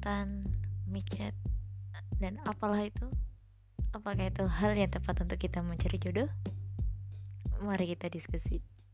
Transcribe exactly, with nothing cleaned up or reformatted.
mantan, micet, dan apalah itu. Apakah itu hal yang tepat untuk kita mencari jodoh? Mari kita diskusi.